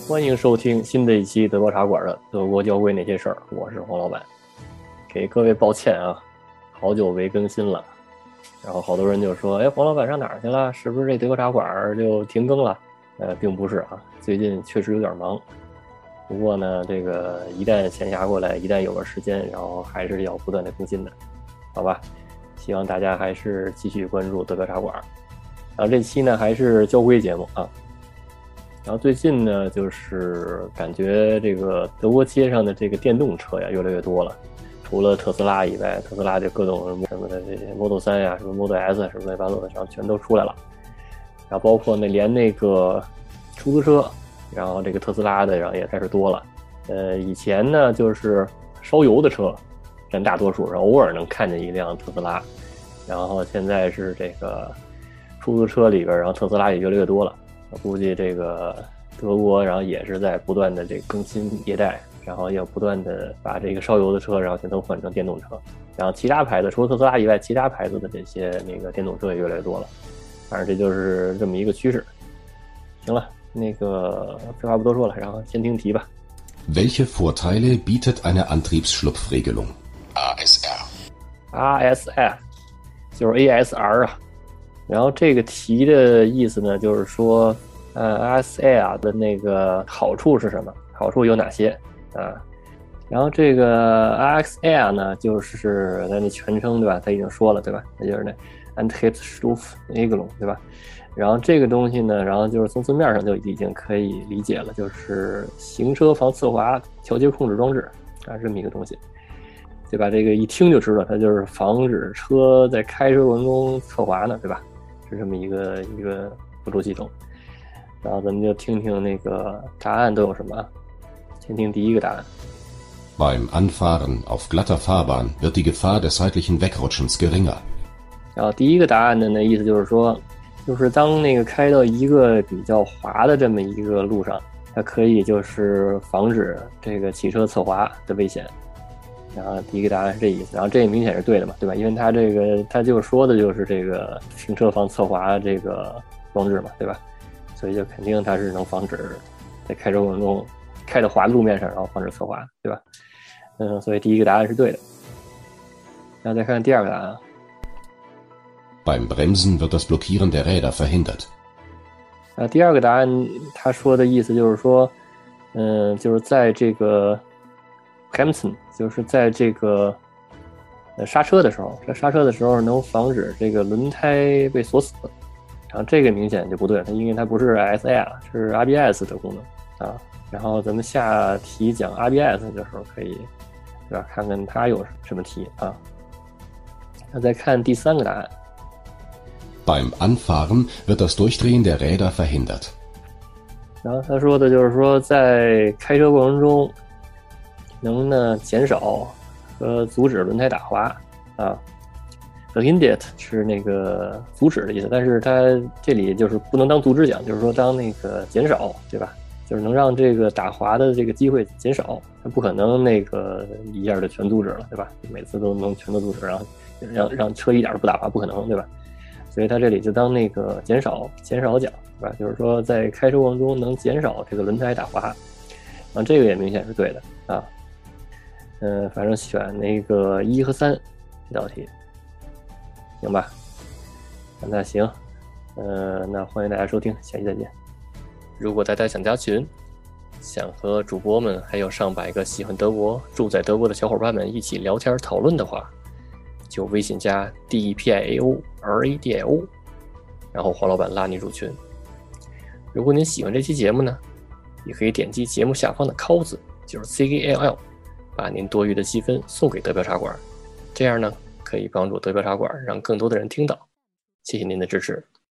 欢迎收听新的一期德国茶馆的德国交规那些事儿，我是黄老板。给各位抱歉啊，好久没更新了。然后好多人就说，黄老板上哪儿去了？是不是这德国茶馆就停更了？并不是啊，最近确实有点忙。不过呢，这个一旦闲暇过来，一旦有个时间，然后还是要不断的更新的，好吧？希望大家还是继续关注德国茶馆。然后这期呢还是交规节目啊。然后最近呢，就是感觉这个德国街上的这个电动车呀越来越多了。除了特斯拉以外，特斯拉就各种什么的这些 Model 3呀、什么 Model S 什么乱七八糟的，然后全都出来了。然后包括连那个出租车，然后这个特斯拉的，然后也开始多了。以前呢就是烧油的车占大多数，然后偶尔能看见一辆特斯拉。然后现在是这个出租车里边，然后特斯拉也越来越多了。我估计这个德国，然后也是在不断的这个更新迭代，然后要不断的把这个烧油的车，然后全都换成电动车。然后其他牌子除了特斯拉以外，其他牌子的这些那个电动车也越来越多了。反正这就是这么一个趋势。行了，那个废话不多说了，然后先听题吧。 Welche Vorteile bietet eine Antriebsschlupfregelung? ASR 就是 ASR 啊。然后这个题的意思呢，就是说ASR 的那个好处是什么？好处有哪些啊？然后这个 ASR 呢，就是它的全称对吧？他已经说了对吧？那就是那 Antriebsstufregelung 对吧？然后这个东西呢，然后就是从字面上就已经可以理解了，就是行车防侧滑调节控制装置啊，这么一个东西。对吧？这个一听就知道，它就是防止车在开车过程中侧滑呢，对吧？是这么一个辅助系统。然后咱们就听听那个答案都有什么啊？先听第一个答案。 Beim Anfahren auf glatter Fahrbahn wird die Gefahr des seitlichen Wegrutschens geringer. 然后第一个答案的那意思就是说，就是当那个开到一个比较滑的这么一个路上，它可以就是防止这个汽车侧滑的危险。然后第一个答案是这意思，然后这也明显是对的嘛，对吧？因为它就说的就是这个行车防侧滑这个装置嘛，对吧？所以就肯定它是能防止在开车过程中开到滑的路面上，然后防止侧滑，对吧？所以第一个答案是对的。然后再看第二个答案。 Beim Bremsen wird das Blockieren der Räder verhindert. 第二个答案他说的意思就是说，就是在这个Bremsen 就是在这个刹车的时候能防止这个轮胎被锁死，然后这个明显就不对，因为它不是 ASR 是 ABS 的功能啊。然后咱们下题讲 ABS 的时候可以，对吧？看看它有什么题啊。那再看第三个答案。 Beim Anfahren wird das Durchdrehen der Räder verhindert. 然后他说的就是说，在开车过程中能呢减少和阻止轮胎打滑啊。Verhindert 是那个阻止的意思，但是它这里就是不能当阻止讲，就是说当那个减少，对吧？就是能让这个打滑的这个机会减少，它不可能那个一下就全阻止了，对吧？每次都能全都阻止，然后让车一点都不打滑，不可能，对吧？所以它这里就当那个减少讲，对吧？就是说在开车过程中能减少这个轮胎打滑，啊，这个也明显是对的啊。反正选那个1和3这道题，行吧？那行，那欢迎大家收听，下期再见。如果大家想加群，想和主播们还有上百个喜欢德国、住在德国的小伙伴们一起聊天讨论的话，就微信加 DEPIAO，RADIO， 然后黄老板拉你入群。如果您喜欢这期节目呢，也可以点击节目下方的 call 字，就是 CALL， 把您多余的积分送给德标茶馆，这样呢可以帮助德标茶馆让更多的人听到。谢谢您的支持。